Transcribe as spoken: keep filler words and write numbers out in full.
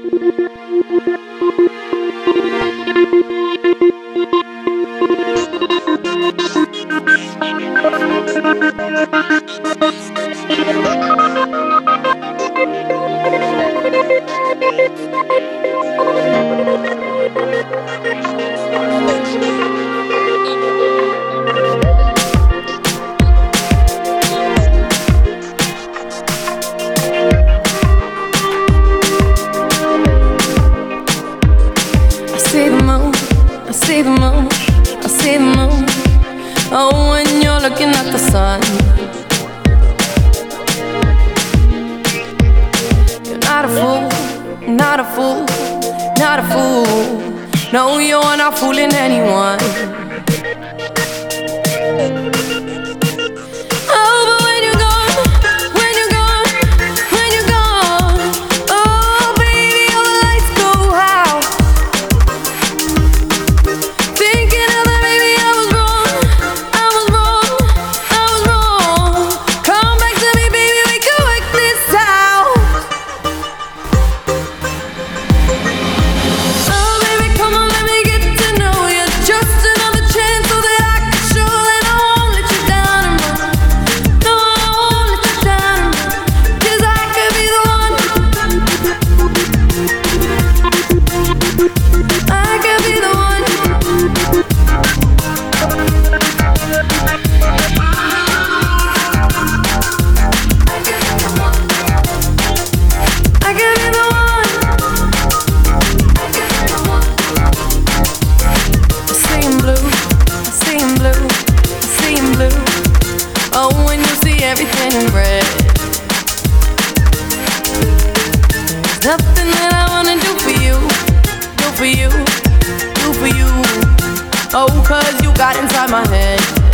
see the moon, I see the moon, I see the moon. Oh, when you're looking at the sun, you're not a fool, not a fool, not a fool. No, you're not fooling anyone. Oh, when you see everything in red, there's nothing that I wanna do for you, do for you, do for you. Oh, 'cause you got inside my head.